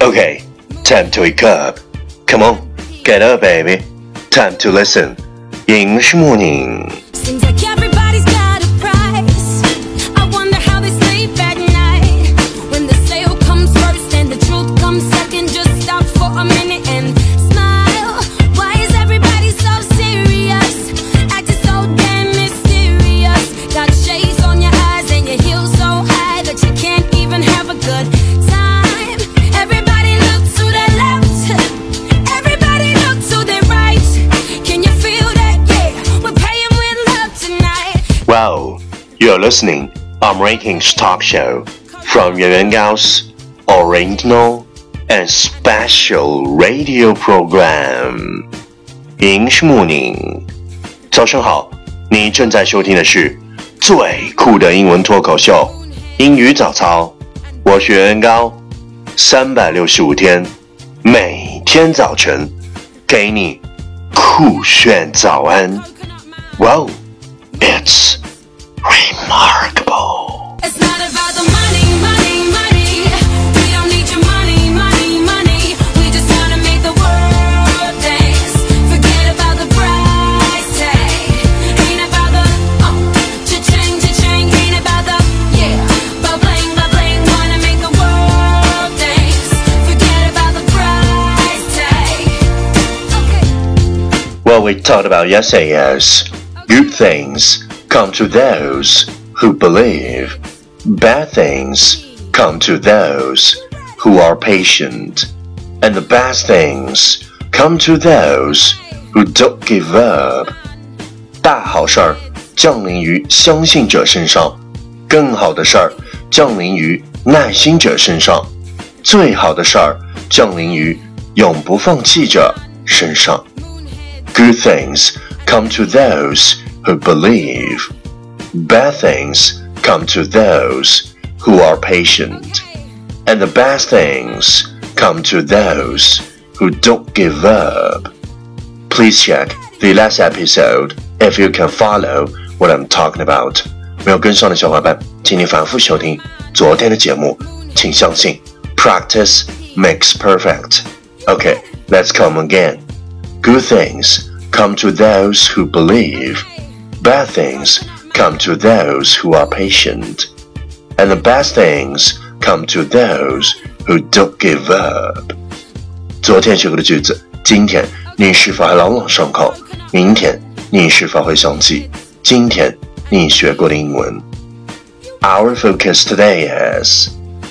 Okay, time to wake up. Come on, get up, baby. Time to listen. English morning. Seems like everybody's got a price. I wonder how they sleep at night. When the sale comes first and the truth comes second, just stop for a minute and smile. Why is everybody so serious? Acting so damn mysterious. Got shades on your eyes and your heels so high that you can't even have a good time. Everybody look to their left. Everybody look to their right. Can you feel that? Yeah, we're paying with love tonight. Wow, you're listening American's talk show from Yuan Gao's original and special radio program. English morning. 早上好，你正在收听的是最酷的英文脱口秀英语早操。我是袁高，365天，每天早晨给你酷炫早安。Wow, it's remarkable. It's not about the money, money, money. We don't need your money, money, money. We just wanna make the world dance. Forget about the price tag. Ain't about the cha-ching, cha-ching. Ain't about the ba-bling, ba-bling. Wanna make the world dance. Forget about the price tag. Okay. What we talked about yesterday is good things come to those who believe. Bad things come to those who are patient. And the best things come to those who don't give up. 大好事儿降临于相信者身上，更好的事儿降临于耐心者身上，最好的事儿降临于永不放弃者身上。Good things come to those who believe. Bad things come to those who are patient. And the best things come to those who don't give up. Please check the last episode if you can follow what I'm talking about. 没有跟上的小伙伴，请你反复收听昨天的节目，请相信 practice makes perfect. Okay, let's come again. Good things come to those who believe. Bad things come to those who are patient. And the best things come to those who don't give up. 昨天学过的句子，今天你是否还朗朗上口？明天你是否会想起今天你学过的英文？ Our focus today is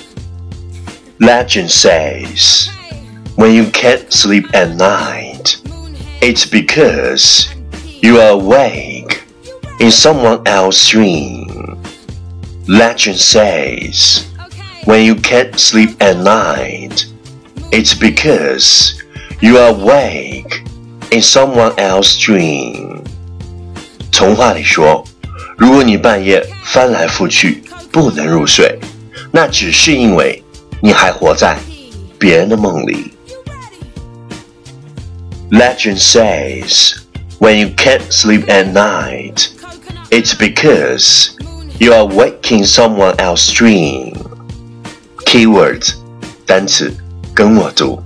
Legend says, when you can't sleep at night, it's because you are awake in someone else's dream. Legend says, when you can't sleep at night, it's because you are awake in someone else's dream. 童话里说，如果你半夜翻来覆去不能入睡，那只是因为你还活在别人的梦里。Legend says, when you can't sleep at night, it's because you are waking someone else's dream. Keywords 单词跟我读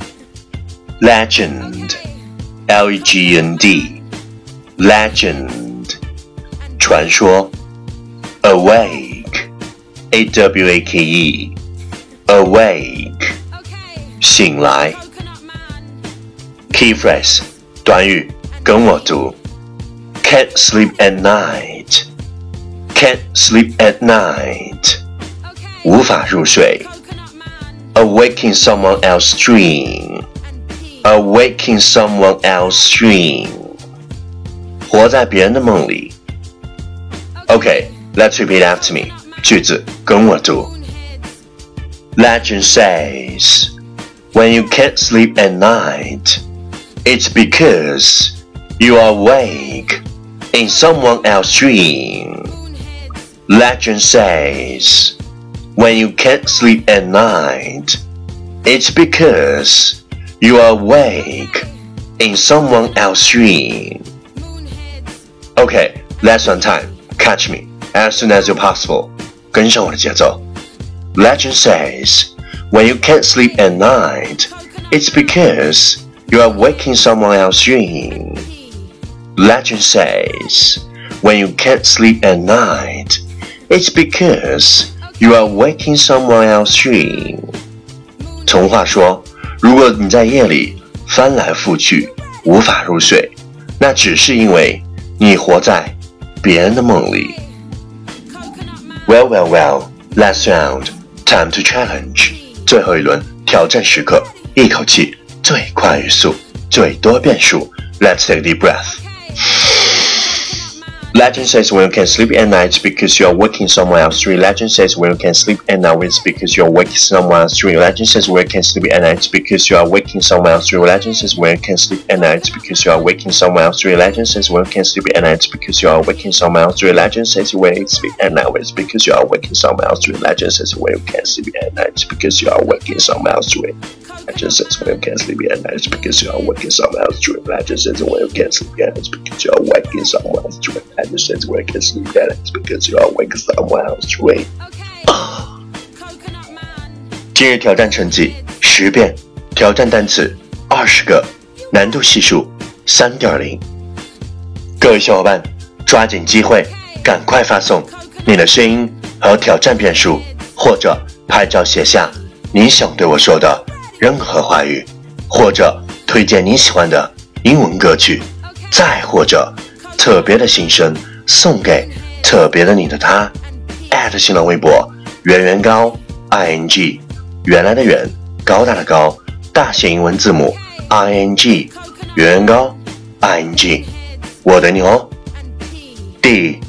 Legend L-E-G-E-N-D Legend 传说 Awake A-W-A-K-E Awake 醒来 Key phrase 短语跟我读 Can't sleep at night Can't sleep at night 无法入睡 Awaking someone else's dream Awaking someone else's dream 活在别人的梦里 Okay, let's repeat after me 句子跟我读 Legend says When you can't sleep at night It's because you are awake in someone else's dream. Legend says, when you can't sleep at night, it's because you are awake in someone else's dream. Okay, lesson time. Catch me as soon as you're possible. 跟上我的节奏。Legend says, When you can't sleep at night, it's because you are waking someone else's dream. Legend says, when you can't sleep at night, it's because you are waking someone else's dream. 童话说，如果你在夜里翻来覆去无法入睡，那只是因为你活在别人的梦里。Well, last round, time to challenge. 最后一轮挑战时刻，一口气最快语速，最多变数。Let's take a deep breath. Legend says when you can't sleep at night it's because you are waking someone else's dream. Legend says when you can't sleep at night it's because you are waking someone else's dream. Legend says when you can't sleep at night it's because you are waking someone else's dream. Legend says when you can't sleep at night it's because you are waking someone else's dream. Legend says when you can't sleep at night it's because you are waking someone else's dream. Legend says when you sleep at night it's because you are waking someone else's dream. Legend says when you can't sleep at night it's because you are waking someone else's dream. Legend says when you can't sleep at night it's because you are waking someone else's dream. Legend says when you can't sleep at night it's because you are waking someone else's dream. Legend says when you can't sleep at night it's because you are waking someone else's dream. 今日挑战成绩10遍，挑战单词20个，难度系数3.0。各位小伙伴，抓紧机会，赶快发送你的声音和挑战遍数，或者拍照写下你想对我说的任何话语，或者推荐你喜欢的英文歌曲，再或者特别的心声送给特别的你的他。新浪微博圆圆高 ing， 原来的圆，高大的高，大写英文字母 ing， 圆圆高 ing， 我等你哦。第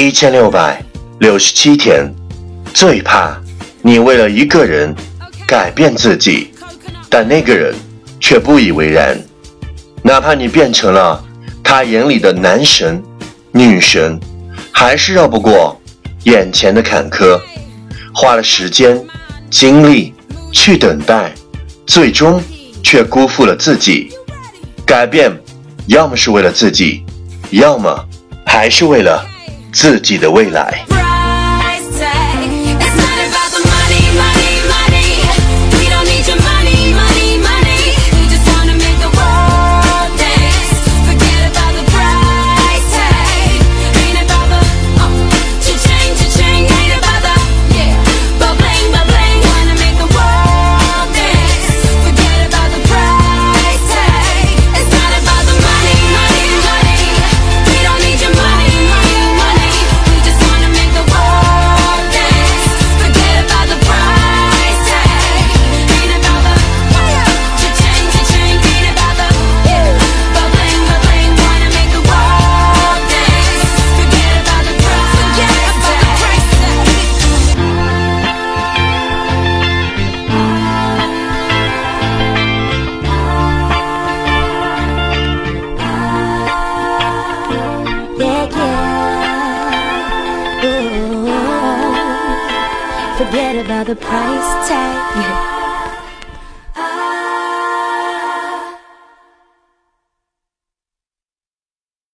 1667天，最怕你为了一个人改变自己，但那个人却不以为然，哪怕你变成了他眼里的男神女神，还是绕不过眼前的坎坷，花了时间精力去等待，最终却辜负了自己。改变要么是为了自己，要么还是为了自己的未来。 Forget about the price tag.